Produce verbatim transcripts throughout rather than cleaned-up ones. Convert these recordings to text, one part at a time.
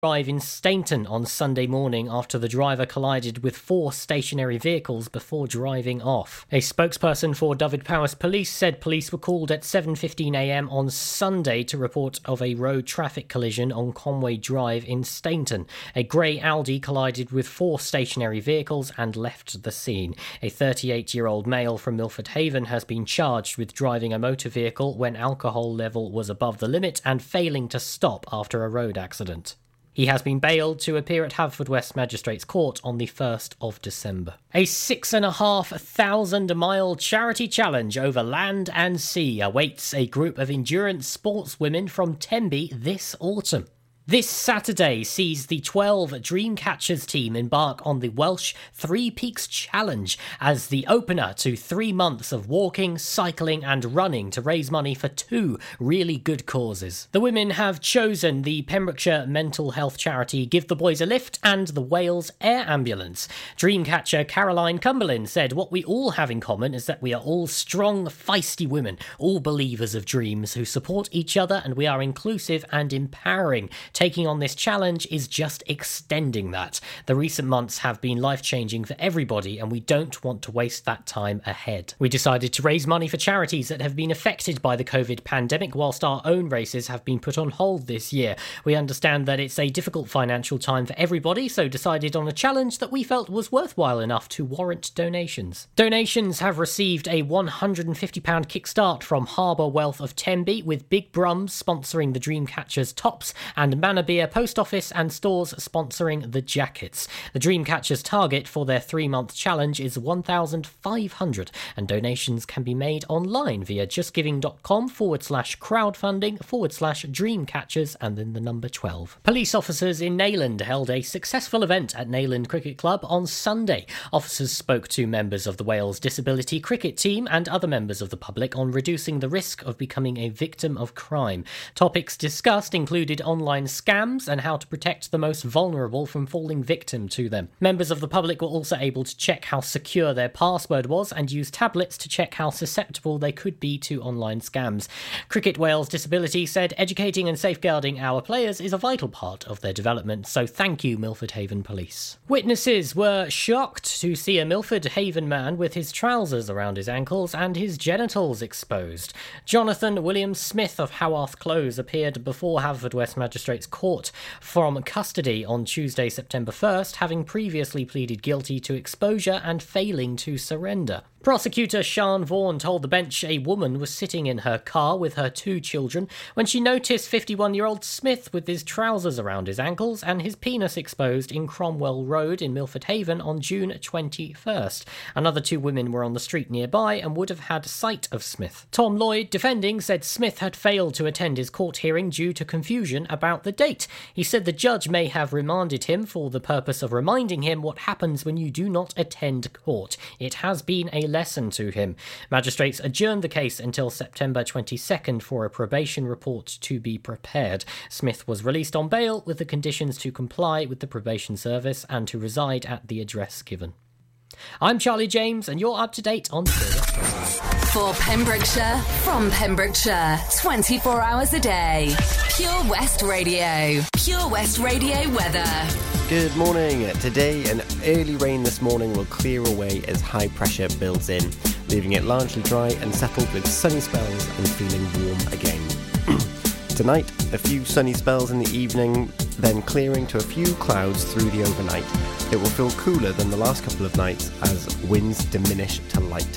Drive in Stainton on Sunday morning after the driver collided with four stationary vehicles before driving off. A spokesperson for Dyfed-Powys Police said police were called at seven fifteen a m on Sunday to report of a road traffic collision on Conway Drive in Stainton. A grey Audi collided with four stationary vehicles and left the scene. A thirty-eight-year-old male from Milford Haven has been charged with driving a motor vehicle when alcohol level was above the limit and failing to stop after a road accident. He has been bailed to appear at Haverfordwest Magistrates Court on the first of December. A six and a half thousand mile charity challenge over land and sea awaits a group of endurance sportswomen from Tenby this autumn. This Saturday sees the twelve Dreamcatchers team embark on the Welsh Three Peaks Challenge as the opener to three months of walking, cycling and running to raise money for two really good causes. The women have chosen the Pembrokeshire mental health charity Give the Boys a Lift and the Wales Air Ambulance. Dreamcatcher Caroline Cumberland said, "What we all have in common is that we are all strong, feisty women, all believers of dreams who support each other, and we are inclusive and empowering. Taking on this challenge is just extending that. The recent months have been life-changing for everybody, and we don't want to waste that time ahead. We decided to raise money for charities that have been affected by the COVID pandemic, whilst our own races have been put on hold this year. We understand that it's a difficult financial time for everybody, so decided on a challenge that we felt was worthwhile enough to warrant donations." Donations have received a one hundred and fifty pounds kickstart from Harbour Wealth of Tenby, with Big Brums sponsoring the Dreamcatchers tops and Manabia Post Office and stores sponsoring the jackets. The Dreamcatchers target for their three-month challenge is one thousand five hundred, and donations can be made online via justgiving.com forward slash crowdfunding forward slash Dreamcatchers and then the number twelve. Police officers in Neyland held a successful event at Neyland Cricket Club on Sunday. Officers spoke to members of the Wales Disability Cricket Team and other members of the public on reducing the risk of becoming a victim of crime. Topics discussed included online scams and how to protect the most vulnerable from falling victim to them. Members of the public were also able to check how secure their password was and use tablets to check how susceptible they could be to online scams. Cricket Wales Disability said educating and safeguarding our players is a vital part of their development, so thank you, Milford Haven Police. Witnesses were shocked to see a Milford Haven man with his trousers around his ankles and his genitals exposed. Jonathan William Smith of Haworth Close appeared before Haverfordwest Magistrates Court from custody on Tuesday, September first, having previously pleaded guilty to exposure and failing to surrender. Prosecutor Sian Vaughan told the bench a woman was sitting in her car with her two children when she noticed fifty-one-year-old Smith with his trousers around his ankles and his penis exposed in Cromwell Road in Milford Haven on June twenty-first. Another two women were on the street nearby and would have had sight of Smith. Tom Lloyd, defending, said Smith had failed to attend his court hearing due to confusion about the date. He said the judge may have remanded him for the purpose of reminding him what happens when you do not attend court. It has been a lesson to him. Magistrates adjourned the case until September twenty-second for a probation report to be prepared. Smith was released on bail with the conditions to comply with the probation service and to reside at the address given. I'm Charlie James, and you're up to date on Pure West Radio. For Pembrokeshire, from Pembrokeshire, twenty-four hours a day. Pure West Radio. Pure West Radio weather. Good morning. Today, an early rain this morning will clear away as high pressure builds in, leaving it largely dry and settled with sunny spells and feeling warm again. Tonight, a few sunny spells in the evening, then clearing to a few clouds through the overnight. It will feel cooler than the last couple of nights as winds diminish to light.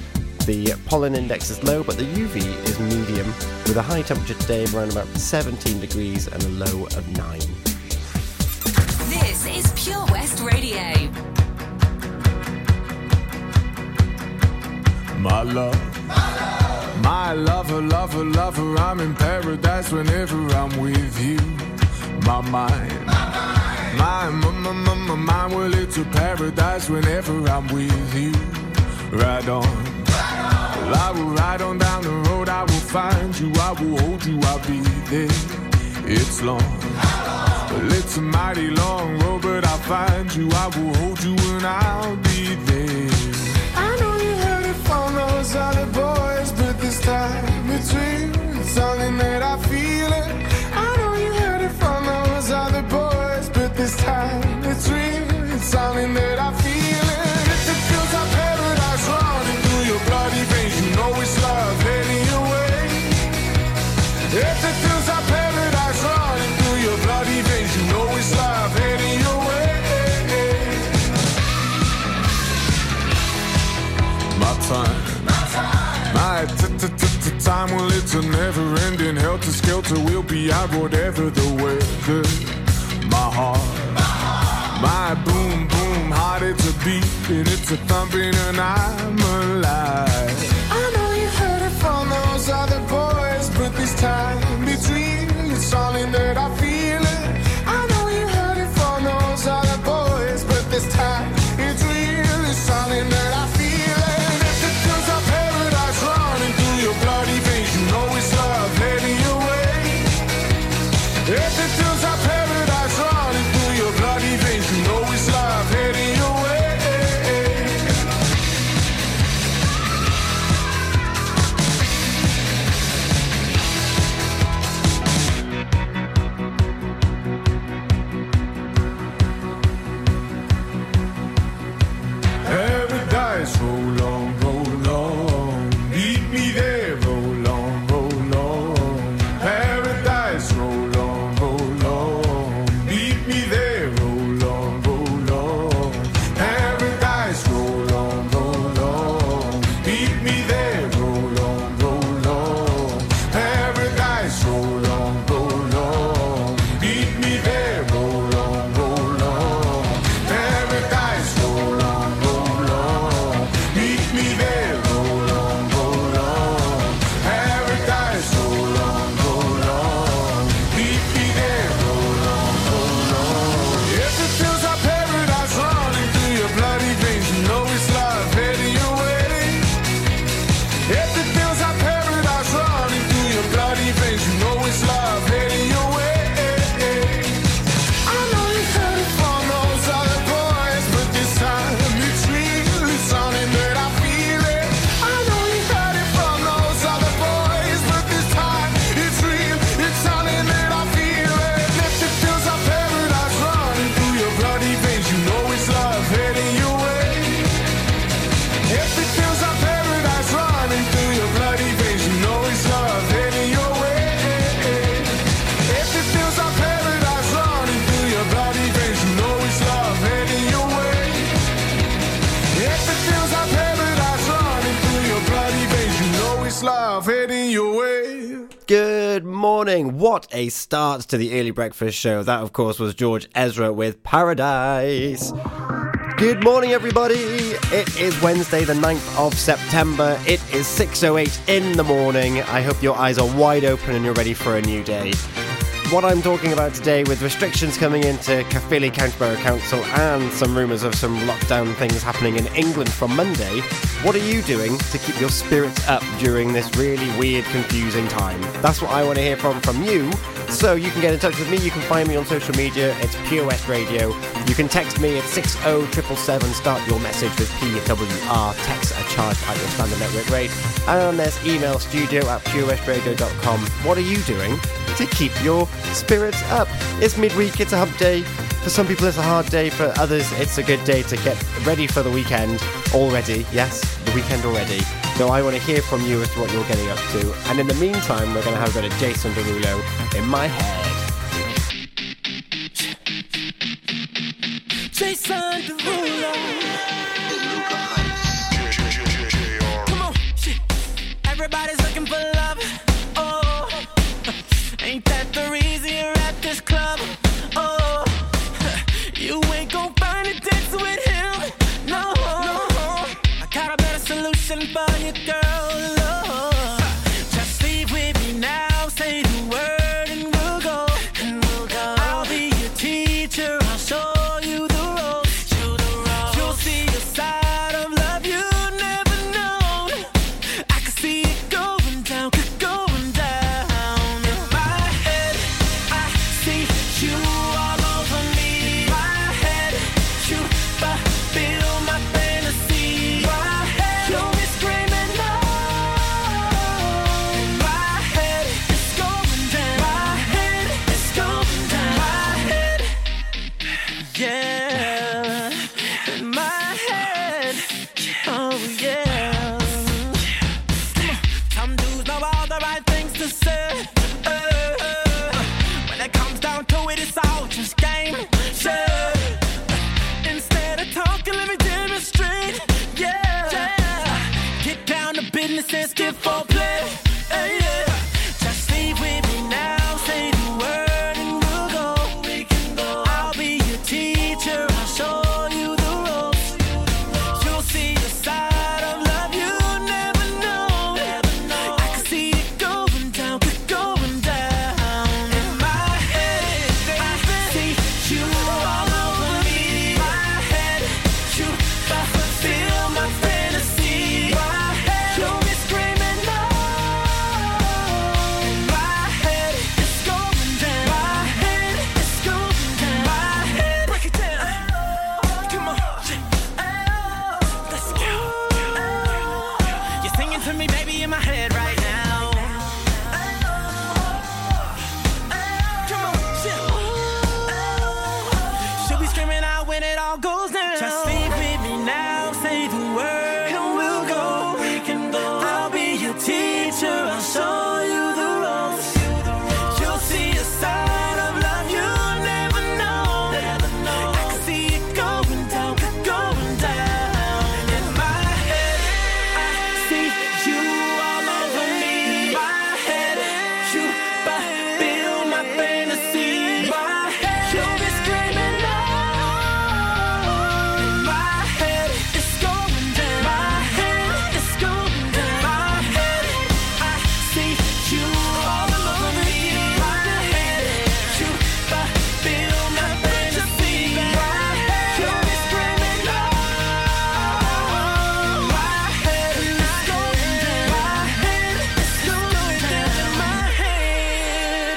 The pollen index is low, but the U V is medium, with a high temperature today of around about seventeen degrees and a low of nine. This is Pure West Radio. My love, my lover, lover, lover, I'm in paradise whenever I'm with you. My mind, my, my, my, my, my mind, well, it's a paradise whenever I'm with you. Ride on, well, I will ride on down the road, I will find you, I will hold you, I'll be there. It's long, well, it's a mighty long road, but I'll find you, I will hold you, and I'll be there. I know you heard it from those other boys, but this time between, it's something that I feel it. I know you heard it from those other boys. time, well, it's a never-ending helter-skelter. We'll be out whatever the weather. My heart, my boom, boom heart, it's a beat and it's a thumping and I'm alive. I know you heard it from those other boys, but this time between it's all in that I feel it. I know you heard it from those other boys, but this time it's real, it's all in that I feel it. If it feels like paradise running through your bloody veins, you know it's love heading your way. If it feels like paradise running through your bloody veins, you know it's love heading your way. Paradise, roll on, roll on. Meet me there, roll on, roll on. Paradise, roll on, roll on. Meet me there, roll on, roll on. Paradise, roll on, roll on. Meet me there, roll on, roll on. Paradise, roll on, roll on. Meet me there, roll on, roll on. Paradise, roll on, roll on. Meet me there, roll on, roll on. Paradise, roll on, roll on. Meet me there, roll on, roll on. If it feels like paradise running through your bloody veins, you know it's love heading your way. If it feels like paradise running through your bloody veins, you know it's love heading your way. I know you heard it from those other boys, but this time it's real, it's something that I feel it. I know you heard it from those other boys, but this time it's real, it's something that I feel it. If it feels like paradise running through your bloody veins, you know it's love heading your way. If it feels like paradise running through your bloody veins, you know it's love heading your way. If it feels like paradise running through your bloody veins, you know it's love heading your way. If it feels like paradise running through your bloody veins, you know it's love heading your way. Good morning. What a start to the early breakfast show. That, of course, was George Ezra with Paradise. Good morning, everybody. It is Wednesday, the ninth of September. It is six oh eight in the morning. I hope your eyes are wide open and you're ready for a new day. What I'm talking about today, with restrictions coming into Caerphilly County Borough Council and some rumours of some lockdown things happening in England from Monday, what are you doing to keep your spirits up during this really weird, confusing time? That's what I want to hear from from you. So you can get in touch with me. You can find me on social media. It's Pure West Radio. You can text me at six oh seven seven seven. Start your message with P W R. Text a charge at your standard network rate. And there's email studio at pure west radio dot com. What are you doing to keep your spirits up? It's midweek. It's a hump day. For some people it's a hard day. For others it's a good day to get ready for the weekend already. Yes, the weekend already. So I want to hear from you as to what you're getting up to. And in the meantime, we're going to have a bit of Jason Derulo in my head. Jason Derulo. Come on, shit. Everybody's looking for love. Oh, ain't that the reason you're at this club? Oh, you ain't gon' find a dance with him. No, no. I got a better solution for you, girl. Oh, just leave with me now. Say the word and we'll go. And we'll go. I'll be your teacher. I'll show you the ropes. You the ropes. You'll see a side of love you never known. I can see it going down, going down. In my head, I see you all over me. My head, you fulfill my fantasy. My head, you'll be screaming no. In my head, it's going down. My head, it's going down. My head, yeah. In my head, oh yeah. Some dudes know all the right things to say. Uh, when it comes down to it, it's all just game. Yeah. Instead of talking, let me demonstrate. Yeah. Get down to business and skip for play. Hey. you all over me. My head, you fulfill my fantasy. My head, you'll be screaming no. My head is going down. My head is going down. My head, break it down. Come on, let's go. You're singing to me, baby, in my head right now. Come on, she'll be screaming out when it all goes down. Just sleep with me now, say the word, and we'll go. We can go. I'll be your teacher, I'll show you the ropes. You'll see a side of love you'll never know. I can see it going down, going down. In my head, I see you all over me. My head, you fulfill my fantasy. My head, you'll be screaming no. My head is going down. My head is going down. My head, I see you all over me. My head, you fulfill my fantasy. My head, you'll be screaming no. My head is going down. My head is going down. My head.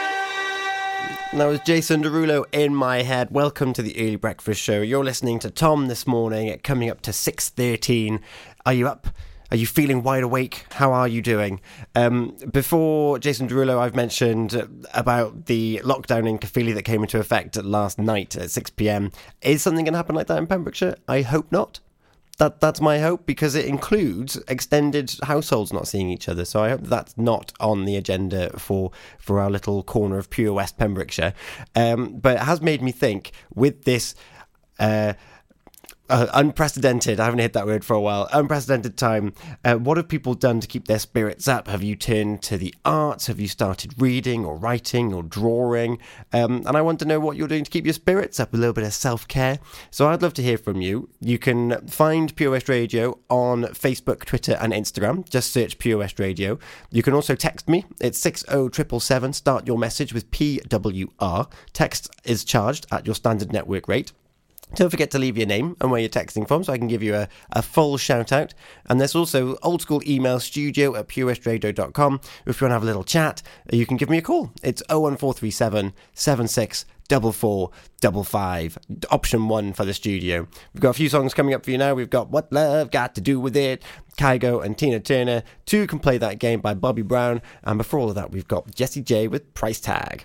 That was Jason Derulo, In My Head. Welcome to the Early Breakfast Show. You're listening to Tom this morning at coming up to six thirteen. Are you up? Are you feeling wide awake? How are you doing? Um, before Jason Derulo, I've mentioned uh, about the lockdown in Caerphilly that came into effect last night at six p.m. Is something going to happen like that in Pembrokeshire? I hope not. That That's my hope, because it includes extended households not seeing each other. So I hope that's not on the agenda for, for our little corner of Pure West Pembrokeshire. Um, but it has made me think, with this uh, uh, unprecedented, I haven't hit that word for a while, unprecedented time, uh, what have people done to keep their spirits up? Have you turned to the arts? Have you started reading or writing or drawing? Um, and I want to know what you're doing to keep your spirits up, a little bit of self-care. So I'd love to hear from you. You can find Pure West Radio on Facebook, Twitter and Instagram. Just search Pure West Radio. You can also text me. It's six oh seven seven seven. Start your message with P W R. Text is charged at your standard network rate. Don't forget to leave your name and where you're texting from so I can give you a, a full shout out. And there's also old school email, studio at pure west radio dot com. If you want to have a little chat, you can give me a call. It's oh one four three seven, seven six four four five five. Option one for the studio. We've got a few songs coming up for you now. We've got What Love Got to Do With It, Kygo and Tina Turner. Two Can Play That Game by Bobby Brown. And before all of that, we've got Jessie J with Price Tag.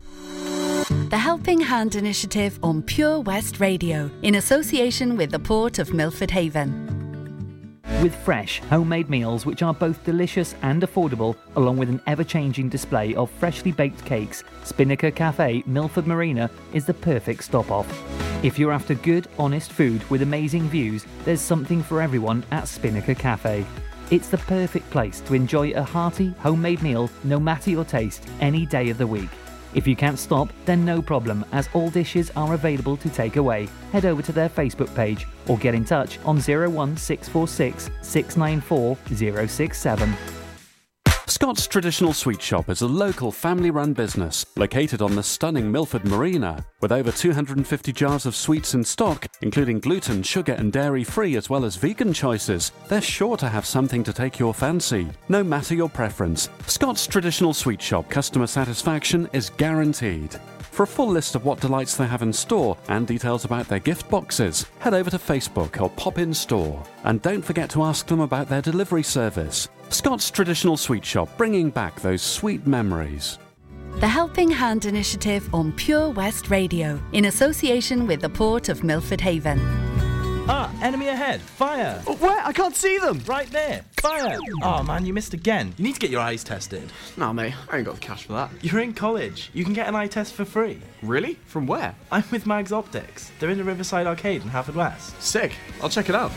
The Helping Hand Initiative on Pure West Radio, in association with the Port of Milford Haven. With fresh, homemade meals which are both delicious and affordable, along with an ever-changing display of freshly baked cakes, Spinnaker Cafe, Milford Marina is the perfect stop-off. If you're after good, honest food with amazing views, there's something for everyone at Spinnaker Cafe. It's the perfect place to enjoy a hearty, homemade meal, no matter your taste, any day of the week. If you can't stop, then no problem, as all dishes are available to take away. Head over to their Facebook page or get in touch on oh one six four six, six nine four oh six seven. Scott's Traditional Sweet Shop is a local family-run business located on the stunning Milford Marina. With over two hundred fifty jars of sweets in stock, including gluten, sugar and dairy-free as well as vegan choices, they're sure to have something to take your fancy, no matter your preference. Scott's Traditional Sweet Shop customer satisfaction is guaranteed. For a full list of what delights they have in store and details about their gift boxes, head over to Facebook or pop in store. And don't forget to ask them about their delivery service. Scott's Traditional Sweet Shop, bringing back those sweet memories. The Helping Hand Initiative on Pure West Radio, in association with the Port of Milford Haven. Ah, enemy ahead. Fire. Oh, where? I can't see them. Right there. Fire. Oh, man, you missed again. You need to get your eyes tested. Nah, mate, I ain't got the cash for that. You're in college. You can get an eye test for free. Really? From where? I'm with Mags Optics. They're in the Riverside Arcade in Haverfordwest. Sick. I'll check it out.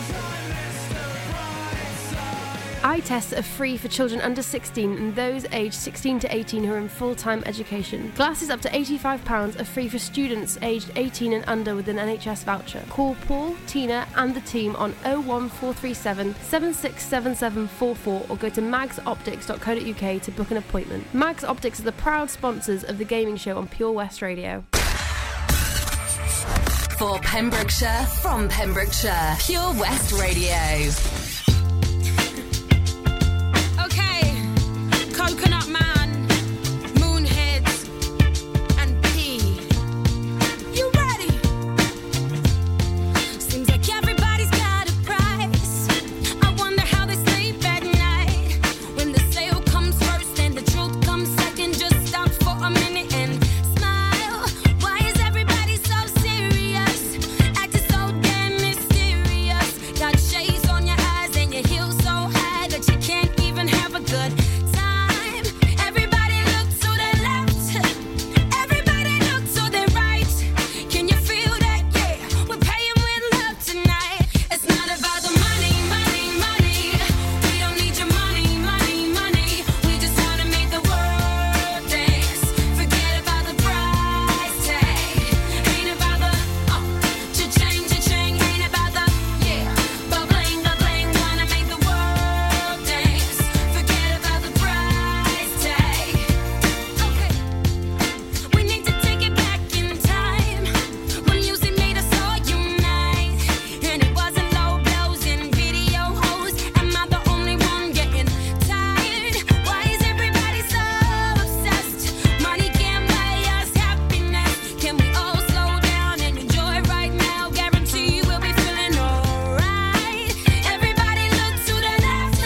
Eye tests are free for children under sixteen and those aged sixteen to eighteen who are in full-time education. Glasses up to eighty-five pounds are free for students aged eighteen and under with an N H S voucher. Call Paul, Tina and the team on oh one four three seven, seven six seven seven four four or go to mags optics dot co dot uk to book an appointment. Mags Optics are the proud sponsors of the gaming show on Pure West Radio. For Pembrokeshire, from Pembrokeshire, Pure West Radio. Okay, Coconut Man, Moonheads, and P. You ready? Seems like everybody's got a price. I wonder how they sleep at night. When the sale comes first and the truth comes second, just stop for a minute and smile. Why is everybody so serious? Acting so damn mysterious. Got shades on your eyes and your heels so high that you can't even have a good time. Everybody look to the left. Everybody look to the right. Can you feel that? Yeah, we're paying with love tonight. It's not about the money, money, money. We don't need your money, money, money. We just wanna make the world dance. Forget about the price tag. Ain't about the oh, cha-ching, cha-ching. Ain't about the yeah, ba-bling, ba-bling. Wanna make the world dance. Forget about the price tag. Okay, we need to take it back in time when music made us all unite, and it wasn't low blows and video hoes. Am I the only one getting tired? Why is everybody so obsessed? Money can't buy us happiness. Can we all slow down and enjoy right now? Guarantee we'll be feeling alright. Everybody look to the left.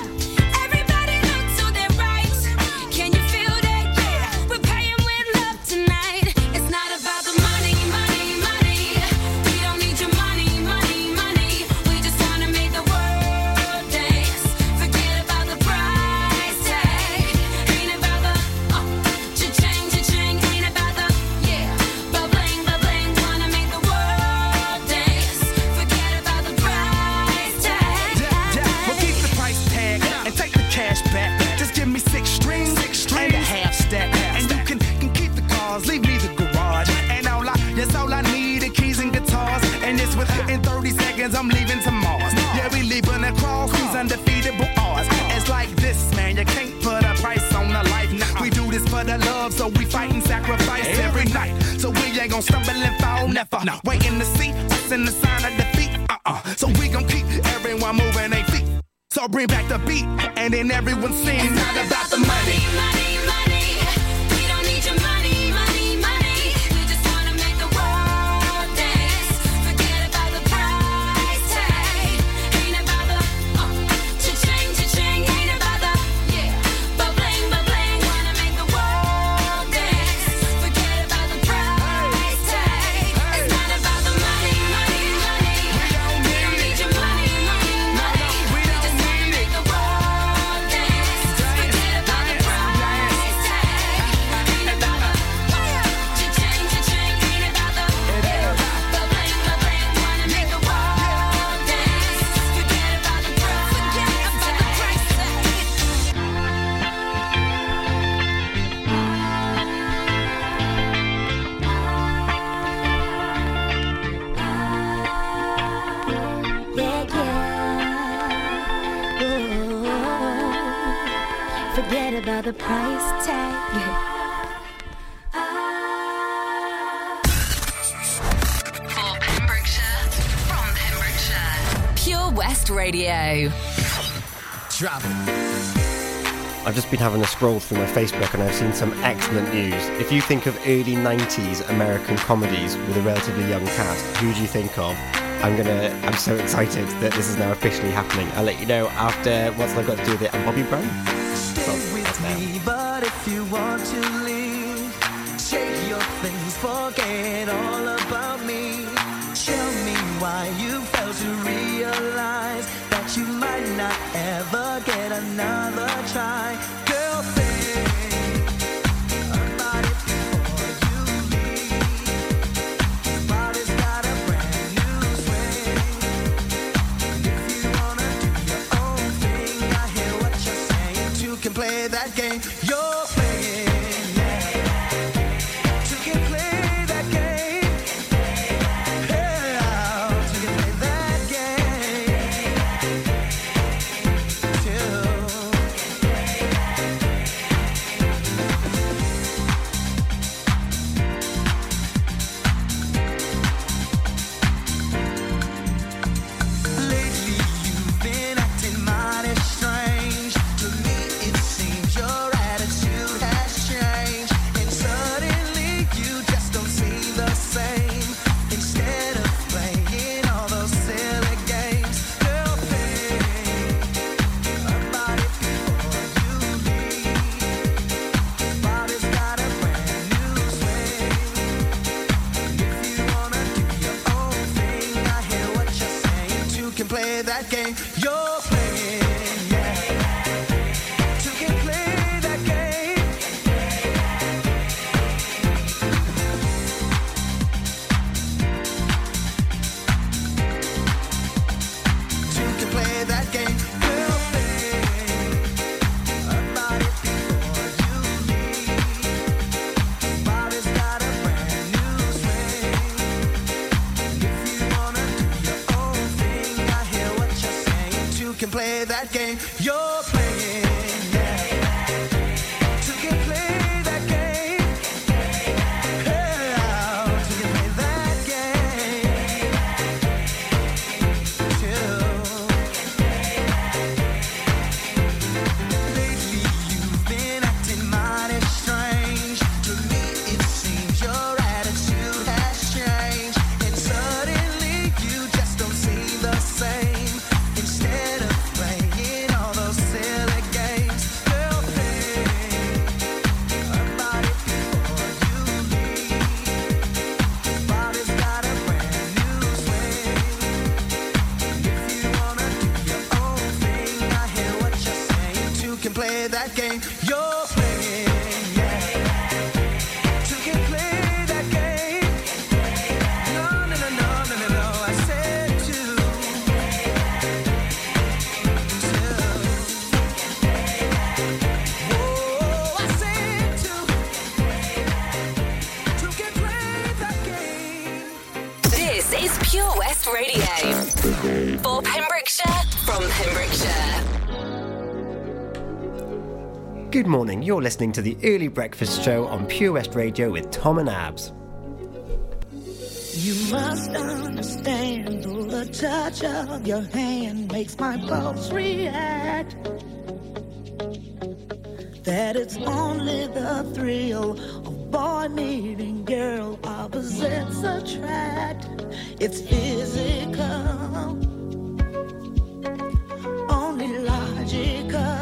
Everybody look to the right. Can you feel that? Yeah, we're paying with love tonight. It's not about the money, money, money. We don't need your money, money, money. We just wanna make the world dance. Forget about the price tag. Ain't about the oh, cha-ching, cha-ching. Ain't about the yeah, ba-bling, ba-bling. Wanna make the world dance. Forget about the price tag. Well, keep the price tag and take the cash back. Just give me six strings, and a half stack. And you can, can keep the cars, leave me the garage. And all I, that's all I need, the keys and guitars. And it's within thirty seconds, I'm leaving to Mars. Yeah, we leaving across these undefeatable odds. It's like this, man, you can't put a price on a life. Nah, we do this for the love, so we fight and sacrifice every night. So we ain't gonna stumble and fall, never. Waiting to see us in the sign of defeat. Uh-uh. So we gon' keep everyone moving their feet. So bring back the beat, and then everyone sings. It's not about the money. Money, money. We don't need your money, money, money. We just wanna make the world dance. Forget about the price tag. Ain't about the oh, cha-ching, cha-ching. Ain't about the yeah, ba-bling, ba-bling. Wanna make the world dance. Forget about the price tag. It's not about the money, money, money. We don't need your money, money, money. We just wanna make the world dance. Forget about the price tag. Ain't about the cha-ching, cha-ching. Ain't about the yeah, ba-bling, ba-bling. Wanna make the world dance. Forget about the price. Forget about the price tag. Yeah, yeah. Ooh. Forget about the price tag. For Pembrokeshire, from Pembrokeshire, Pure West Radio. Drop I've just been having a scroll through my Facebook and I've seen some excellent news. If you think of early nineties American comedies with a relatively young cast, who do you think of? I'm gonna. I'm so excited that this is now officially happening. I'll let you know after what's I've got to do with it. I'm Bobby Brown. Stay with me, but if you want to leave, shake your things, forget all about me. Tell me why you failed to realize that you might not ever get another try. Girl, think about it before you leave. Your body's got a brand new swing. If you wanna do your own thing, I hear what you're saying. Two can play that game you're playing. Two can play that game. that game you're playing, yeah. Two can play that game. Two can play that game you're playing. About it before you leave. Body's got a brand new swing. If you wanna do your own thing, I hear what you're saying. Two can play that game you're playing, yeah. Two can play that game. Yeah, two can play that game. Two. Lately you've been acting mighty strange. To me it seems your attitude has changed, and suddenly you just don't seem the same. Instead of playing all those silly games, girl, think about it before you leave. Body's got a brand new swing. If you wanna do your own thing, I hear what you're saying. Two can play that game you're playing, yeah. Two can play that game. No, no, no, no, no, no, no. I said two. Two. Whoa, I said two. Two can play that game. This is Pure West Radio. For Pembrokeshire, from Pembrokeshire. Good morning, you're listening to the Early Breakfast Show on Pure West Radio with Tom and Abs. You must understand, though the touch of your hand makes my pulse react, that it's only the thrill of boy meeting girl opposites attract. It's physical, only logical.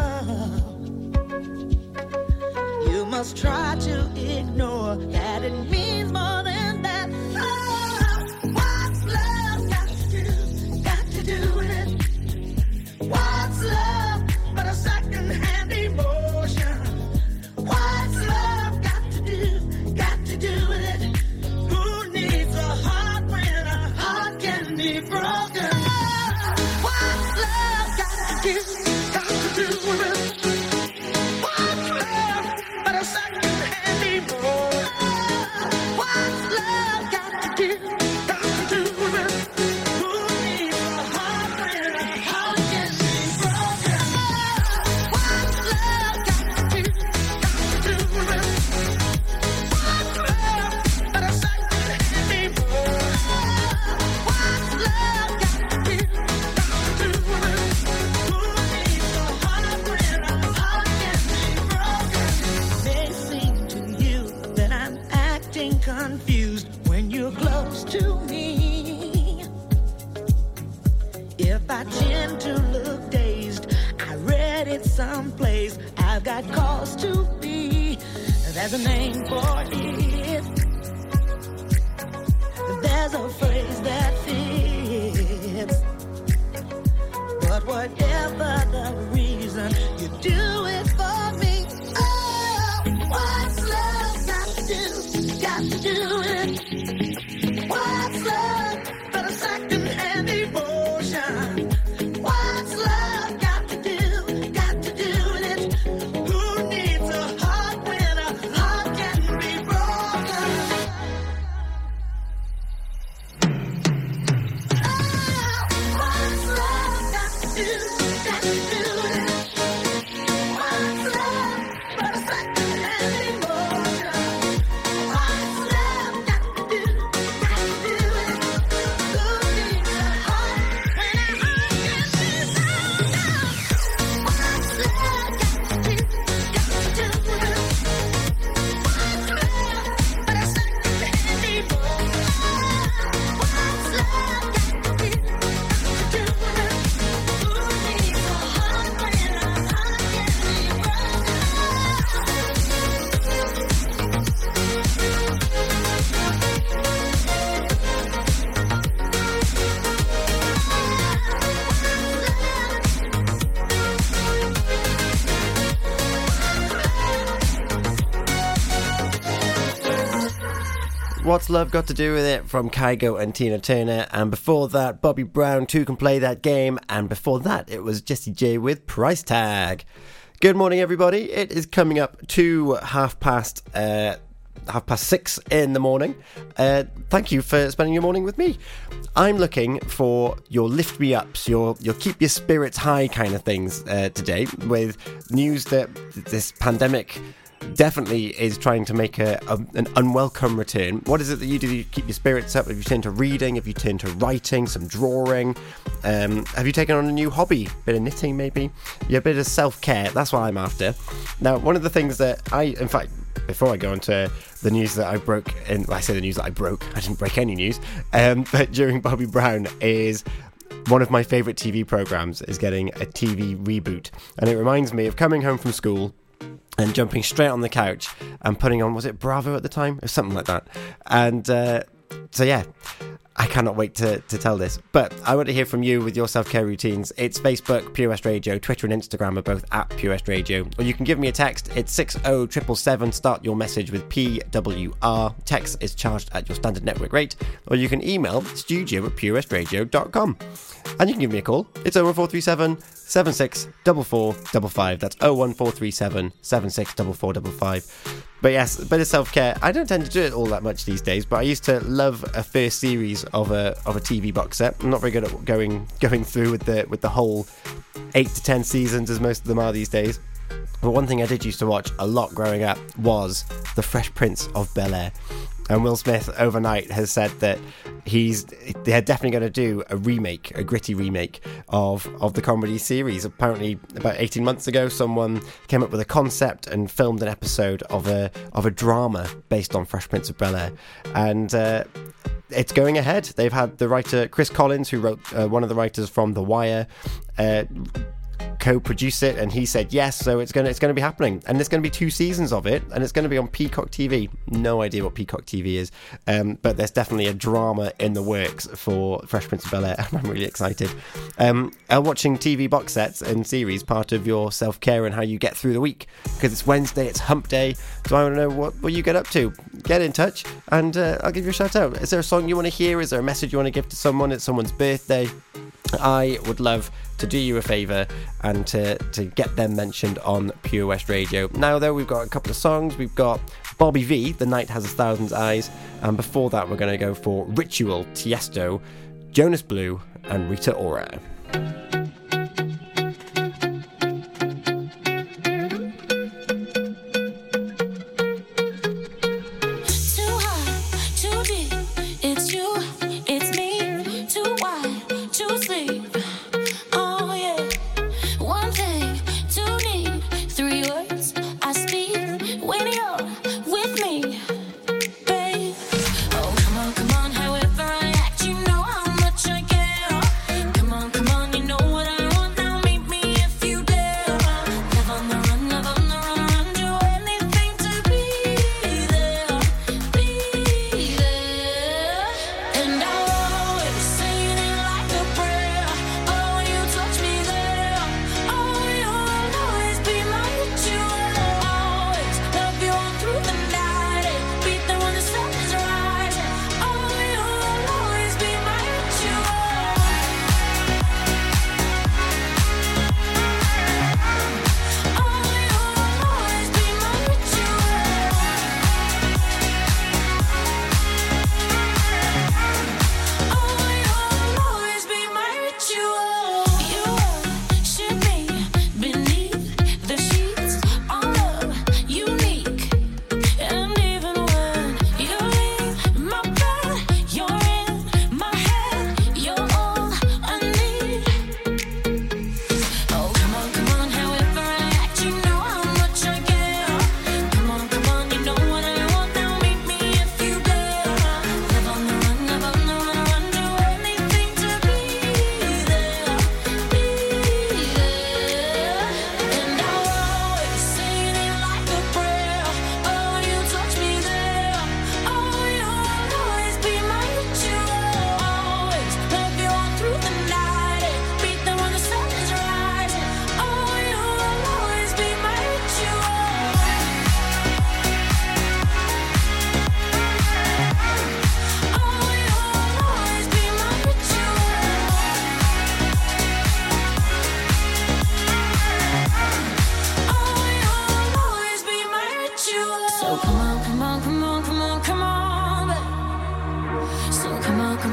You must try to ignore that it means more than that. Oh, what's love got to do? Got to do with it. What's love but a second-hand emotion? What's love got to do? Got to do with it. Who needs a heart when a heart can be broken? Oh, what's love got to do? Got to do with it. What's love but a second-hand emotion? What's love got to do? Got to do with it. Who needs a heart when a heart can be broken? What's love got to do? Got to do with it. What's love but a second-hand emotion? What's love got to do? Got to do with it. Who needs a heart when a heart can be broken? May seem to you that I'm acting confused when you're close to me. If I tend to look dazed, I read it someplace. I've got cause to be. There's a name for it. There's a phrase that fits. But whatever the reason, you do it for me. Oh, what's love got to do? Got to do it. What's love but a second-hand emotion? What's love got to do? Got to do with it. Who needs a heart when a heart can be broken? Oh, what's love got to do? Got to do with it. What's Love Got to Do With It from Kygo and Tina Turner, and before that Bobby Brown, Two Can Play That Game, and before that it was Jessie J with Price Tag. Good morning everybody, it is coming up to half past uh, half past six in the morning. Uh, thank you for spending your morning with me. I'm looking for your lift me ups, your your keep your spirits high kind of things uh, today, with news that this pandemic definitely is trying to make a, a an unwelcome return. What is it that you do to keep your spirits up? Have you turned to reading? Have you turned to writing, some drawing? Um, have you taken on a new hobby? Bit of knitting maybe? Yeah, a bit of self-care. That's what I'm after. Now, one of the things that I, in fact, before I go into the news that I broke, in, well, I say the news that I broke, I didn't break any news, um, but during Bobby Brown is one of my favourite T V programmes is getting a T V reboot. And it reminds me of coming home from school and jumping straight on the couch and putting on, was it Bravo at the time? Or something like that. And uh, so, yeah, I cannot wait to, to tell this. But I want to hear from you with your self-care routines. It's Facebook, Pure West Radio, Twitter and Instagram are both at Pure West Radio. Or you can give me a text. It's six oh seven seven. Start your message with P W R. Text is charged at your standard network rate. Or you can email studio at pure west radio dot com. And you can give me a call. It's oh one four three seven, seven six four four five five. That's oh one four three seven, seven six four four five five. But yes, a bit of self-care. I don't tend to do it all that much these days, but I used to love a first series of a of a T V box set. I'm not very good at going going through with the with the whole eight to ten seasons as most of them are these days. But one thing I did used to watch a lot growing up was The Fresh Prince of Bel-Air. And Will Smith overnight has said that he's they're definitely going to do a remake, a gritty remake of, of the comedy series. Apparently, about eighteen months ago, someone came up with a concept and filmed an episode of a of a drama based on Fresh Prince of Bel-Air. And uh, it's going ahead. They've had the writer Chris Collins, who wrote uh, one of the writers from The Wire, uh, co-produce it, and he said yes, so it's gonna it's gonna be happening, and there's gonna be two seasons of it, and it's gonna be on Peacock T V. No idea what Peacock T V is, um, but there's definitely a drama in the works for Fresh Prince of Bel-Air, and I'm really excited. Um, are watching T V box sets and series part of your self-care and how you get through the week? Because it's Wednesday, it's hump day, so I want to know what, what you get up to. Get in touch, and uh, I'll give you a shout out. Is there a song you want to hear? Is there a message you want to give to someone? It's someone's birthday. I would love to do you a favour and to, to get them mentioned on Pure West Radio. Now though, we've got a couple of songs. We've got Bobby V, The Night Has a Thousand Eyes, and before that we're going to go for Ritual, Tiesto, Jonas Blue and Rita Ora. Come on, come on, you know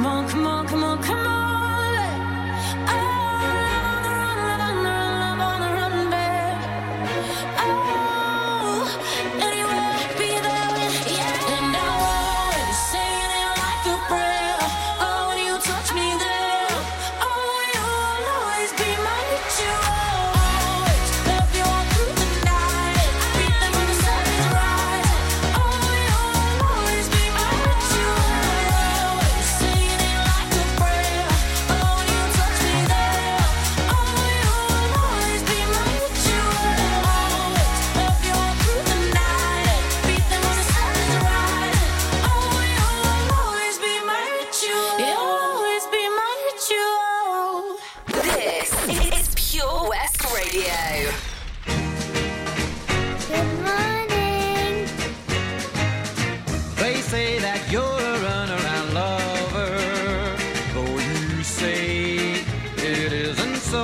on, come on, come on, come on. Oh, live on the run, live on the run, live on the run, babe. Oh, anywhere, be there when, yeah. And I'll always say it like a prayer. Oh, when you touch me there. Oh, you'll always be my ritual. Always love you all through the night. Beat them when the sun is rising. Oh, you'll always be my ritual. Always saying it like a prayer. Oh, when you touch me there. Oh, you'll always be my ritual. Always love you all through the night. Beat them when the sun is rising. Oh, you'll always be my ritual. You'll always be my ritual. This is Pure West Radio. Good morning. They say that you're a runaround lover, though you say it isn't so.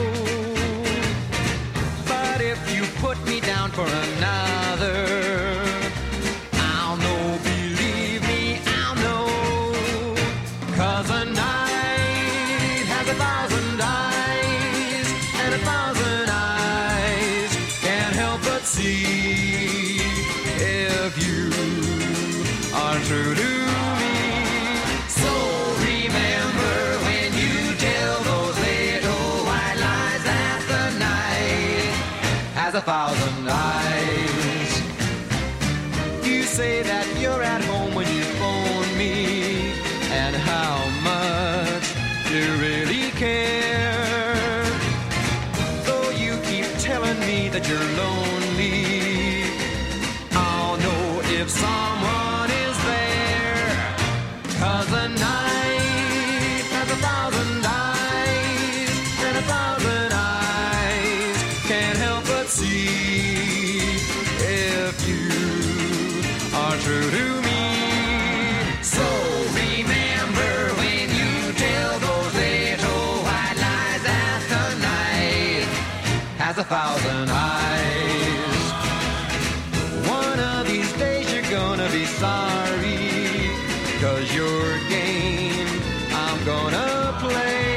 But if you put me down for another, I'll know, believe me, I'll know. 'Cause a night has a thousand eyes, and a thousand eyes can't help but see if you are true to me. So remember when you tell those little white lies that the night has a thousand eyes. You say that you're at home when you phone me, and how much you really care. Though you keep telling me that you're lonely, I'll know if someone is there. 'Cause the night has a thousand eyes, and a thousand eyes can't help but see if you are true to me. So remember when you tell those little white lies that the night has a thousand eyes. One of these days you're gonna be sorry, 'cause your game I'm gonna play.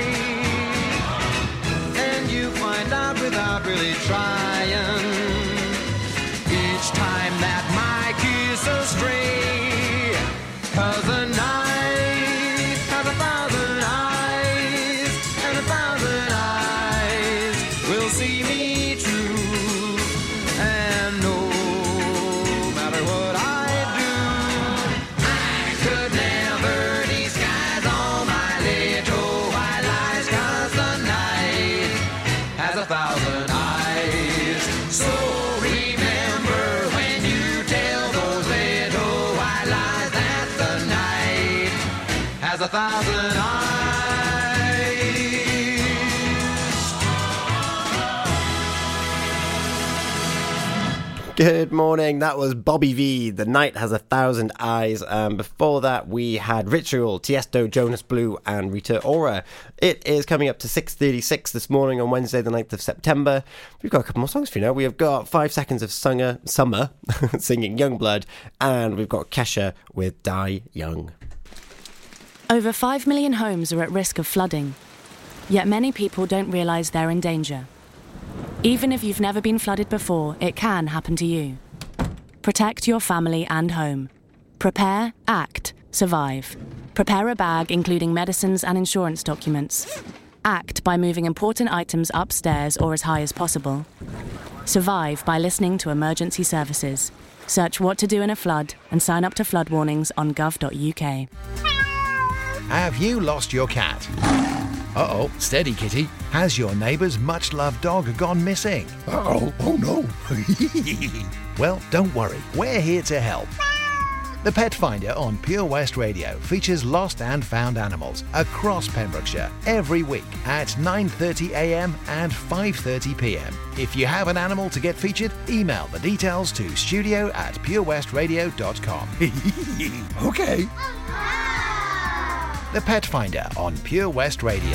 And you find out without really trying, each time that my kiss astray. 'Cause the night has a thousand eyes, and a thousand eyes will see me true. And no matter what I do, I could never disguise all my little white lies. 'Cause the night has a thousand eyes. So remember when you tell those little white lies that the night has a thousand eyes. Good morning, that was Bobby V, The Night Has a Thousand Eyes. Um, before that, we had Ritual, Tiesto, Jonas Blue, and Rita Ora. It is coming up to six thirty-six this morning on Wednesday, the ninth of September. We've got a couple more songs for you now. We have got Five Seconds of Sunger, Summer, singing Youngblood, and we've got Kesha with Die Young. Over five million homes are at risk of flooding, yet many people don't realise they're in danger. Even if you've never been flooded before, it can happen to you. Protect your family and home. Prepare, act, survive. Prepare a bag including medicines and insurance documents. Act by moving important items upstairs or as high as possible. Survive by listening to emergency services. Search what to do in a flood and sign up to flood warnings on gov dot u k. Have you lost your cat? Uh-oh, steady kitty. Has your neighbour's much-loved dog gone missing? Uh-oh, oh no. Well, don't worry, we're here to help. The Pet Finder on Pure West Radio features lost and found animals across Pembrokeshire every week at nine thirty a m and five thirty p m. If you have an animal to get featured, email the details to studio at purewestradio dot com. Okay. The Pet Finder on Pure West Radio.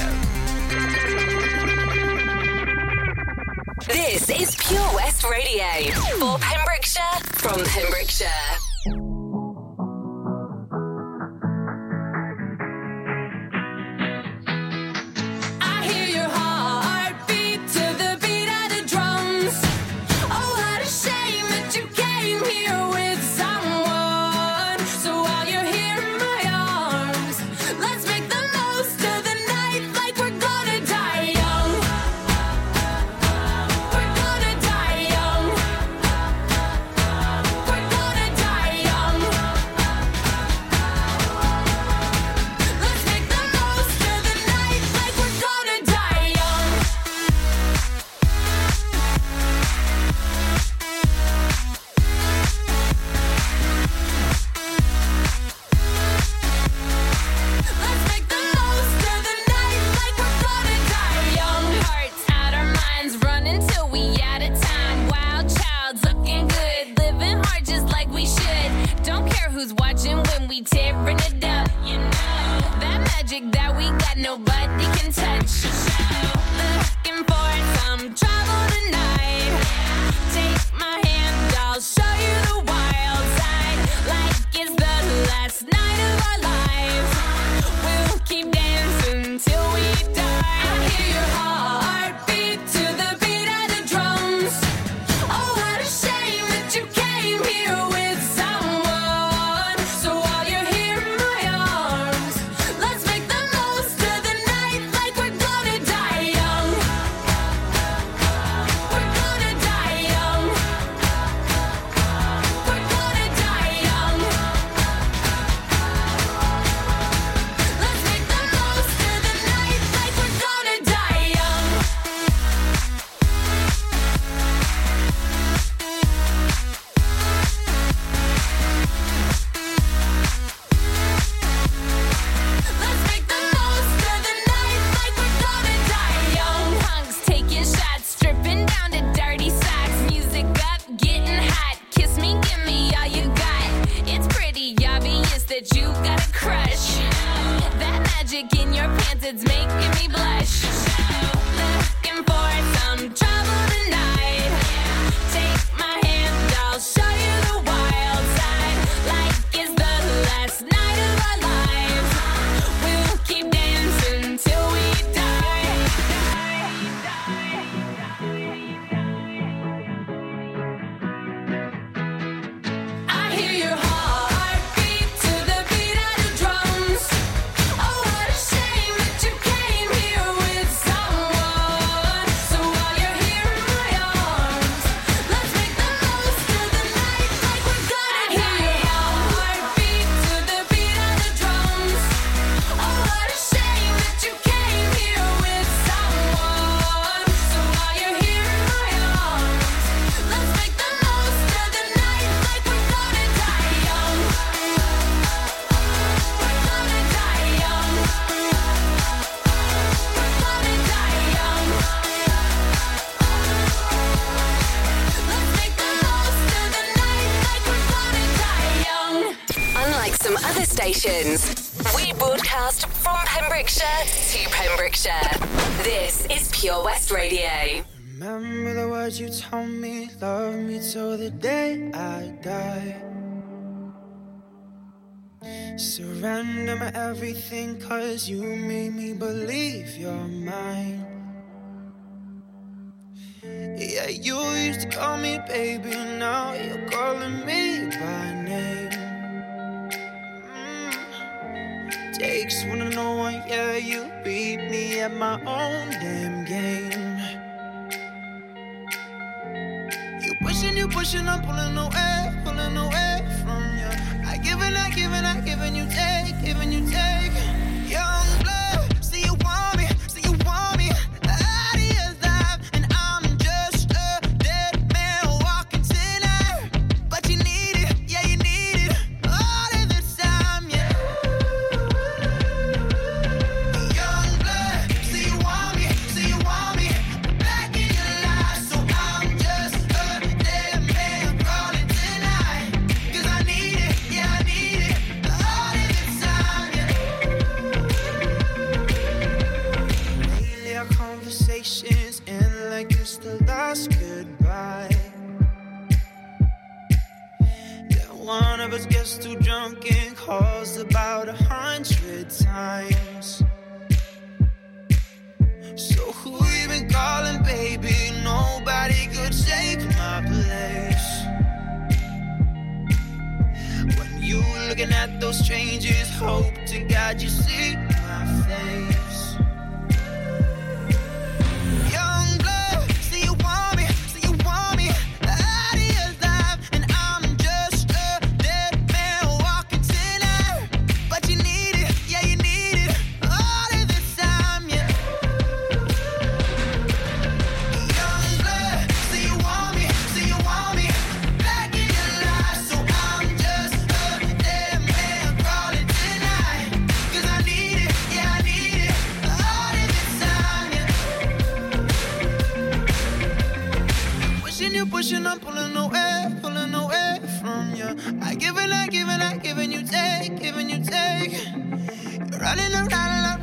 This is Pure West Radio for Pembrokeshire, from Pembrokeshire. magic that we got nobody can touch. Looking for some trouble tonight. Take my hand, I'll show you the wild side. Like it's the last night of our lives. We'll keep dancing till we die. I hear your heartbeat to the beat of the drums. Oh, what a shame that you came here with someone. So while you're here in my arms, let's make the most of the night like we're gonna die young. We're gonna die young. We're gonna die young. Let's make the most of the night like we're gonna die young. Let's make the most of the night like we're gonna die young. Punks taking shots, stripping down to dirty socks. Music up, getting hot. Kiss me, give me all you got. It's pretty obvious that you got a crush. That magic in your pants, it's making me blush. Looking for some trouble tonight. Take my hand, I'll show you the wild side. Like it's the last night of our lives. We'll keep dancing till we die. I hear your heartbeat to the beat of the drums. Oh, what a shame that you came here with someone. So while you're here in my arms, let's make the most of the night like we're gonna die. I hear your heartbeat to the beat of the drums. Oh, what a shame that you came here with someone. So while you're here in my arms, let's make the most of the night like we're gonna die young. We're gonna die young. We're gonna die young. Let's make the most of the night like we're gonna die young. Unlike some other stations, we broadcast from Pembrokeshire to Pembrokeshire. This is Pure West Radio. Remember the words you told me, love me till the day I die. Surrender my everything, cause you made me believe you're mine. Yeah, you used to call me baby, now you're calling me by name. Mm. Takes one to know one, yeah, you beat me at my own damn game. You pushing, you pushing, I'm pulling away, pulling away from you. I give and I give and I give and you take, give and you take. Young blood, see you want me, see you want me. Out of your life, and I'm just a dead man walking tonight. But you need it, yeah, you need it all of the time, yeah. Young blood, see you want me, see you want me. Back in your life, so I'm just a dead man crawling tonight. Cause I need it, yeah, I need it all of the time, yeah. Lately our conversations end like it's the last goodbye. Then one of us gets too drunk and calls about a hundred times. So who you been calling, baby? Nobody could take my place. When you looking at those strangers, hope to God you see my face. Young blood, see you want me, see you want me. Out of your life, and I'm just a dead man walking tonight. But you need it, yeah, you need it all of the time, yeah. Young blood, see you want me, see you want me. Back in your life, so I'm just a dead man crawling tonight. Cause I need it, yeah, I need it all of the time, yeah. Pushing you, pushing, I'm pulling away, pulling away from you. I give and I give and I give and you take, give and you take. You're running around and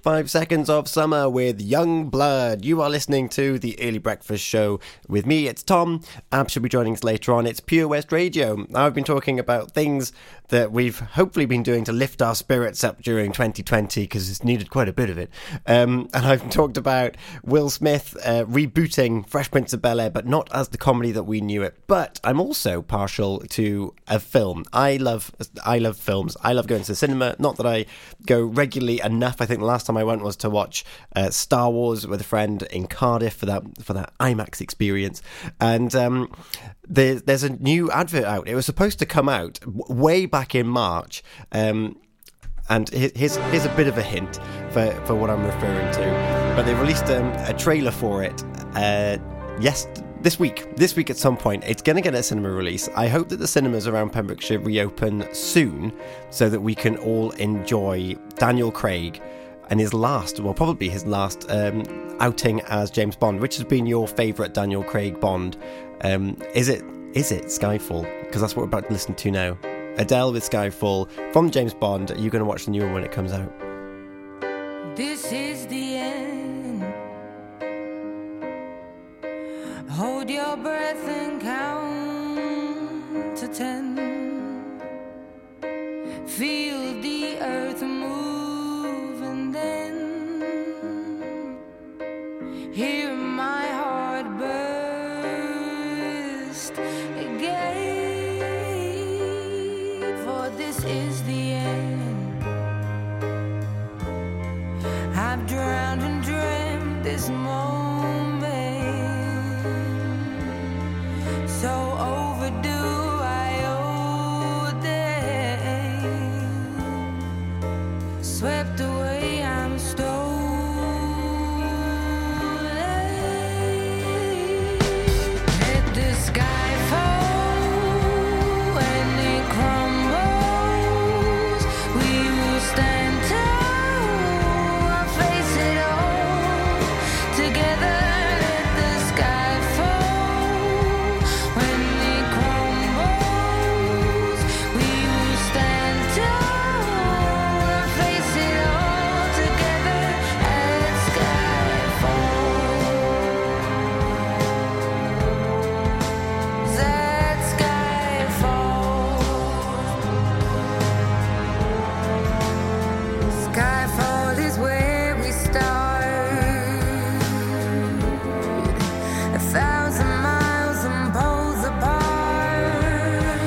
Five Seconds of Summer with Young Blood. You are listening to the Early Breakfast Show with me, it's Tom. Ab should be joining us later on. It's Pure West Radio. I've been talking about things that we've hopefully been doing to lift our spirits up during twenty twenty, because it's needed quite a bit of it. Um, and I've talked about Will Smith uh, rebooting Fresh Prince of Bel-Air, but not as the comedy that we knew it. But I'm also partial to a film. I love, I love films. I love going to the cinema. Not that I go regularly enough. I think the last time I went was to watch uh, Star Wars with a friend in Cardiff for that for that IMAX experience. And um, there's there's a new advert out. It was supposed to come out w- way back in March. Um, and here's here's a bit of a hint for, for what I'm referring to. But they released um, a trailer for it. Uh, yes. This week, this week at some point, it's going to get a cinema release. I hope that the cinemas around Pembrokeshire reopen soon so that we can all enjoy Daniel Craig and his last, well, probably his last um, outing as James Bond. Which has been your favourite Daniel Craig Bond? Um, is it is it Skyfall? Because that's what we're about to listen to now. Adele with Skyfall from James Bond. Are you going to watch the new one when it comes out? This is the end. Hold your breath and count to ten. Feel the earth move and then hear my heart burst again. For this is the end. I've drowned and dreamt this moment. So overdue, I owe them. Swept away, I'm stolen. Let the sky fall when it crumbles. We will stand tall, I'll face it all together. Let the sky fall. When it crumbles, we will stand tall and face it all together at Skyfall. At Skyfall. Skyfall is where we start. A thousand miles and poles apart,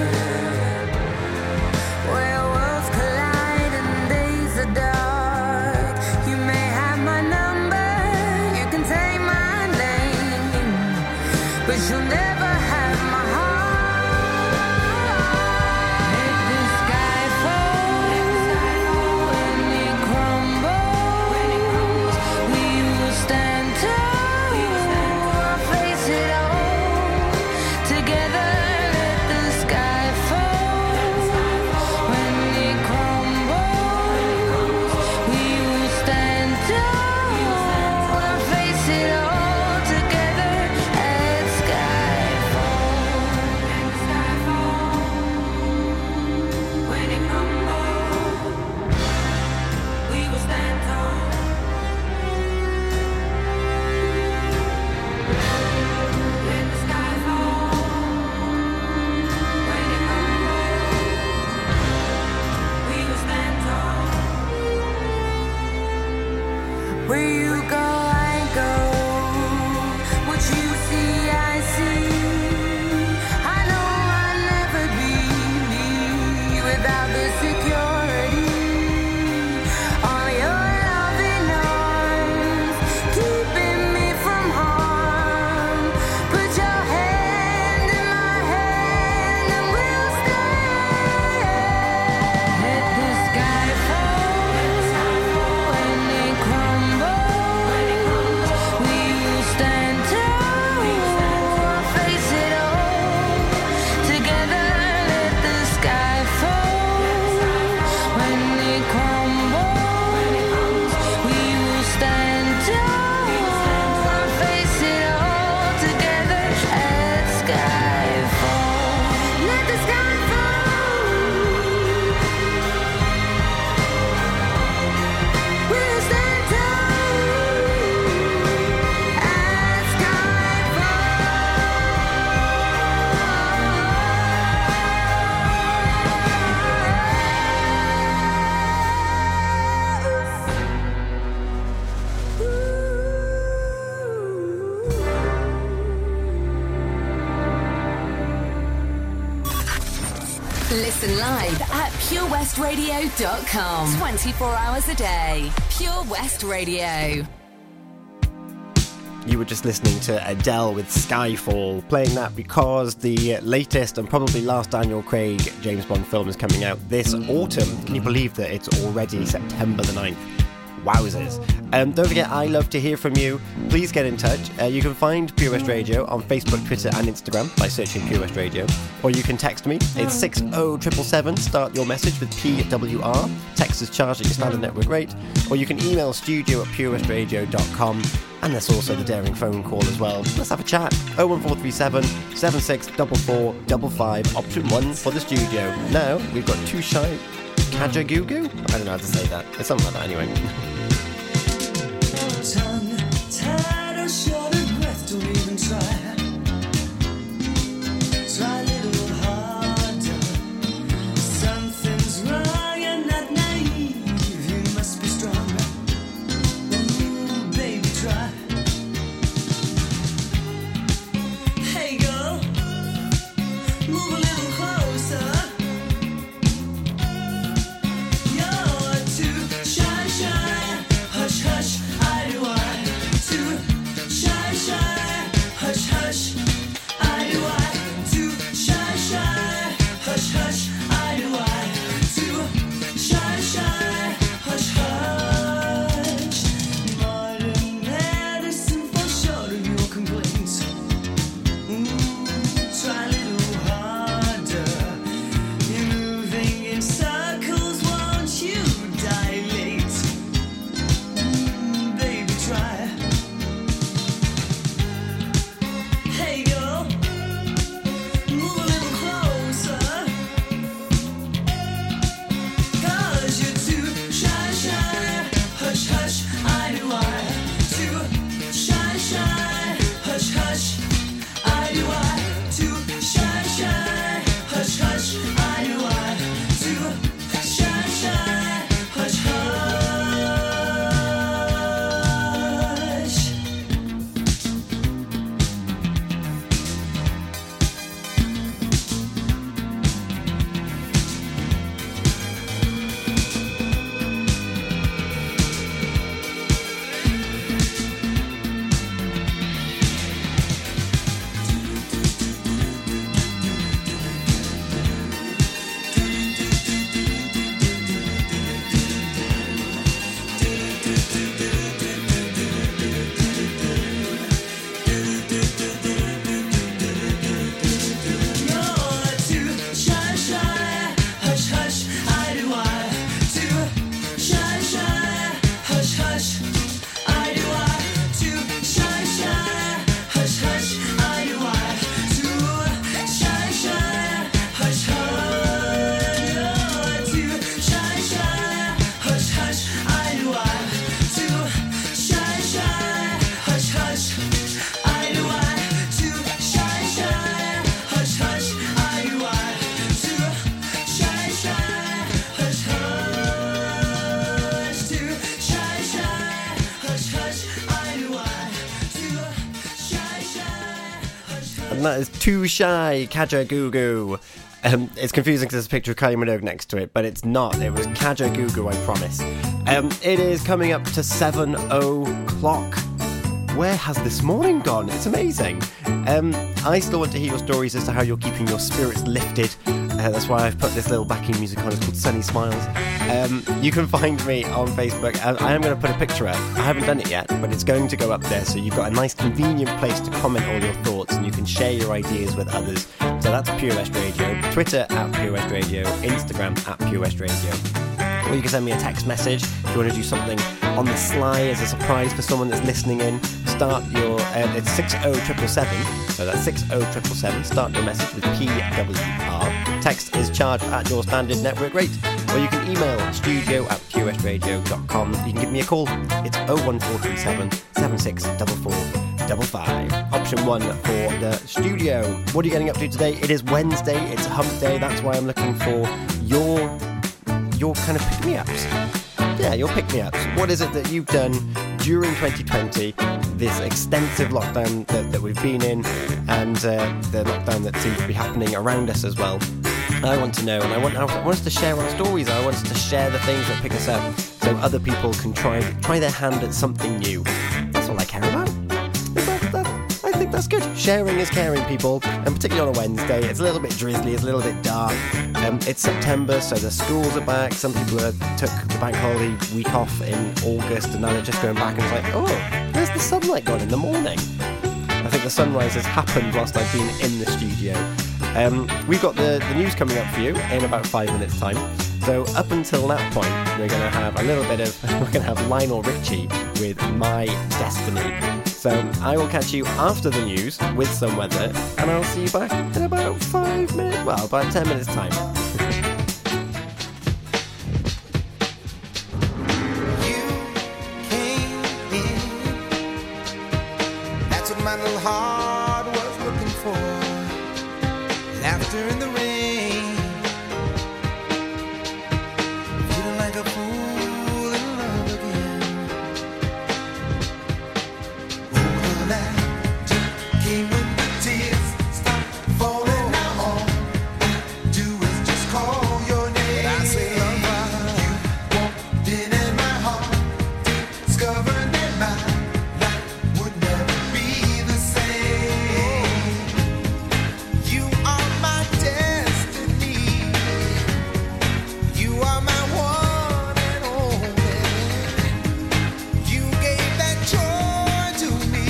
where worlds collide and days are dark. You may have my number, you can take my name, but you'll never have my heart. Let the sky fall when it crumbles. We will stand tall, I'll face it all together. Let the sky fall when it crumbles. We will stand tall, I'll face it all together at Skyfall. Listen live at pure west radio dot com. twenty-four hours a day. Pure West Radio. You were just listening to Adele with Skyfall, playing that because the latest and probably last Daniel Craig James Bond film is coming out this autumn. Can you believe that it's already September the ninth? Wowzers. Um, don't forget, I love to hear from you. Please get in touch. Uh, you can find Pure West Radio on Facebook, Twitter and Instagram by searching Pure West Radio. Or you can text me. It's six oh seven seven seven. Start your message with P W R. Text is charged at your standard network rate. Or you can email studio at pure west radio dot com. And there's also the daring phone call as well. Let's have a chat. oh one four three seven, seven six four four five five. Option one for the studio. Now, we've got Too Shy Kajagoogoo? I don't know how to say that. It's something like that anyway. Tongue tied or short of breath, don't even try. Try a little harder. Something's wrong, you're not naive. You must be strong. Ooh, baby, try. Hey, girl, move a little closer. You're too shy, shy. Hush, hush. And that is Too Shy Kajagoogoo. Um, it's confusing because there's a picture of Kylie Minogue next to it, but it's not. It was Kajagoogoo, I promise. Um, it is coming up to seven o'clock. Where has this morning gone? It's amazing. Um, I still want to hear your stories as to how you're keeping your spirits lifted. Uh, that's why I've put this little backing music on. It's called Sunny Smiles. Um, you can find me on Facebook. I, I am going to put a picture up. I haven't done it yet, but it's going to go up there. So you've got a nice convenient place to comment all your thoughts and you can share your ideas with others. So that's Pure West Radio. Twitter at Pure West Radio. Instagram at Pure West Radio. Or you can send me a text message if you want to do something on the sly as a surprise for someone that's listening in. Start your, uh, it's six oh seven seven, so that's six oh seven seven. Start your message with P W R. Text is charged at your standard network rate. Or you can email studio at pure west radio dot com. You can give me a call. It's oh one four three seven, seven six four four five five. Option one for the studio. What are you getting up to today? It is Wednesday. It's hump day. That's why I'm looking for your your kind of pick-me-ups. Yeah, your pick-me-ups. What is it that you've done during twenty twenty, this extensive lockdown that, that we've been in, and uh, the lockdown that seems to be happening around us as well? I want to know, and I want, I want us to share our stories. I want us to share the things that pick us up, so other people can try try their hand at something new. That's all I care about. That, that, I think that's good. Sharing is caring, people, and particularly on a Wednesday. It's a little bit drizzly, it's a little bit dark. Um, it's September, so the schools are back. Some people are, took the bank holiday week off in August, and now they're just going back, and it's like, oh, where's the sunlight gone in the morning? I think the sunrise has happened whilst I've been in the studio. Um, we've got the, the news coming up for you in about five minutes' time. So up until that point, we're going to have a little bit of, we're going to have Lionel Richie with My Destiny. So I will catch you after the news with some weather, and I'll see you back in about five minutes, well, about ten minutes' time. That's what my little heart was looking for. Laughter in the rain, feeling like a fool in love again. Oh, the magic came when the tears stopped falling. Now all I do is just call your name. And I say, lover, you walked in in my heart, discovered that my life would never be the same. You are my destiny. You are my one and only. You gave that joy to me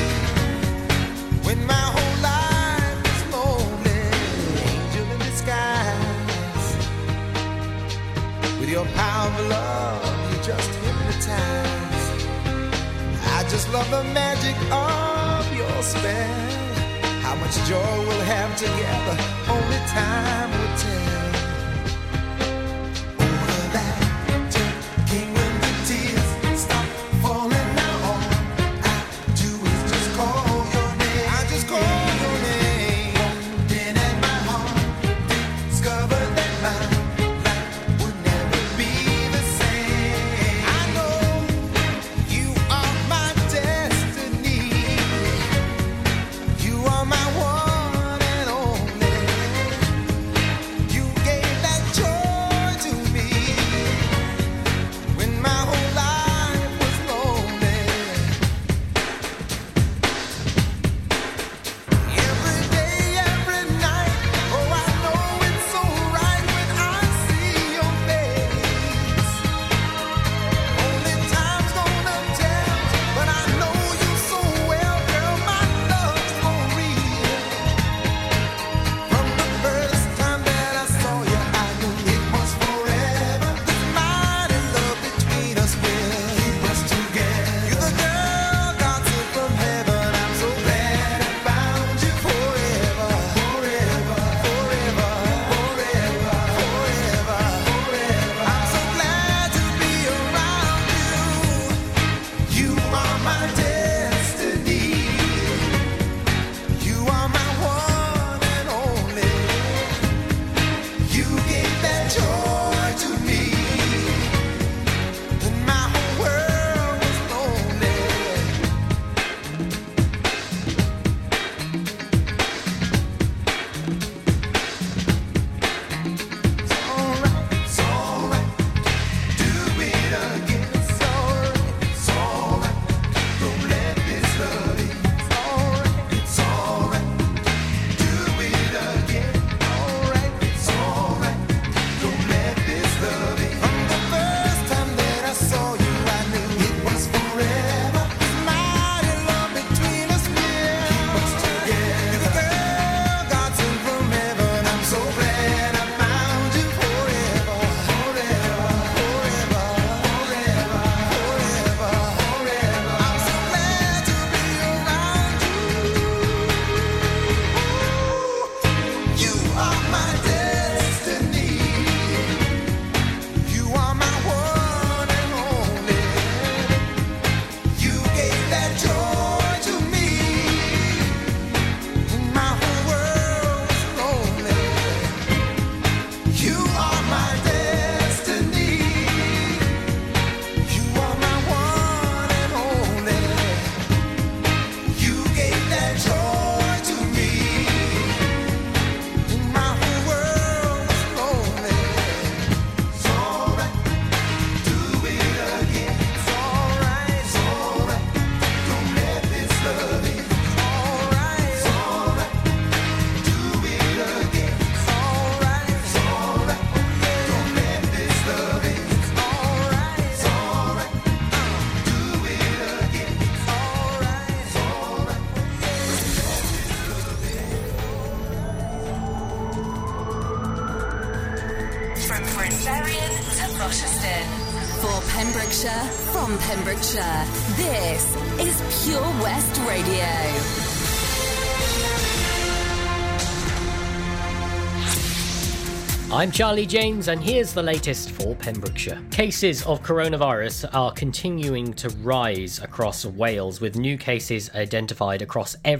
when my whole life was lonely. Angel in disguise, with your power of love, you just hypnotize. I just love the magic of your spell. How much joy we'll have together, only time will tell. Oh, the magic came when the tears stopped falling. Now all I do is just call your name. I just call your name. Walked in at my heart, discovered that my life would never be the same. I know you are my destiny. You are my one and only. You Rochester. For Pembrokeshire, from Pembrokeshire, this is Pure West Radio. I'm Charlie James, and here's the latest for Pembrokeshire. Cases of coronavirus are continuing to rise across Wales, with new cases identified across every